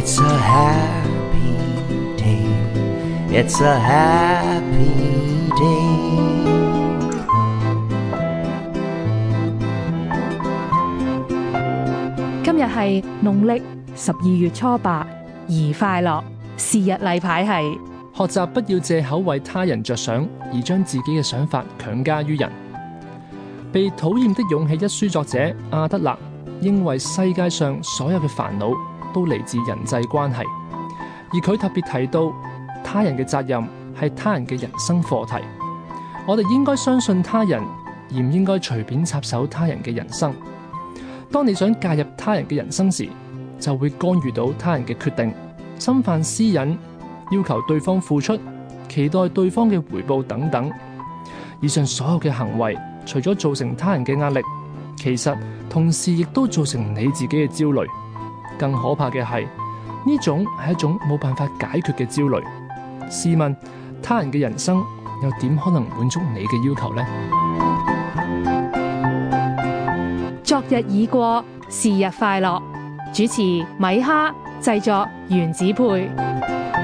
It's a happy day. It's a happy day. 今日係農曆12月初8，宜快樂。是日例牌係學習不要借口為他人着想，而將自己嘅想法強加於人。被討厭的勇氣一書作者阿德勒認為世界上所有嘅煩惱都嚟自人際關係，而佢特別提到他人嘅責任係他人嘅人生課題。我哋應該相信他人，而唔應該隨便插手他人嘅人生。當你想介入他人嘅人生時，就會干預到他人嘅決定，侵犯私隱，要求對方付出，期待對方嘅回報等等。以上所有嘅行為，除咗造成他人嘅壓力，其實同時亦都造成你自己嘅焦慮。更可怕嘅係，呢種係一種冇辦法解決嘅焦慮。試問，他人嘅人生又點可能滿足你嘅要求呢？ 昨日已過，是日快樂。主持米哈，製作原子配。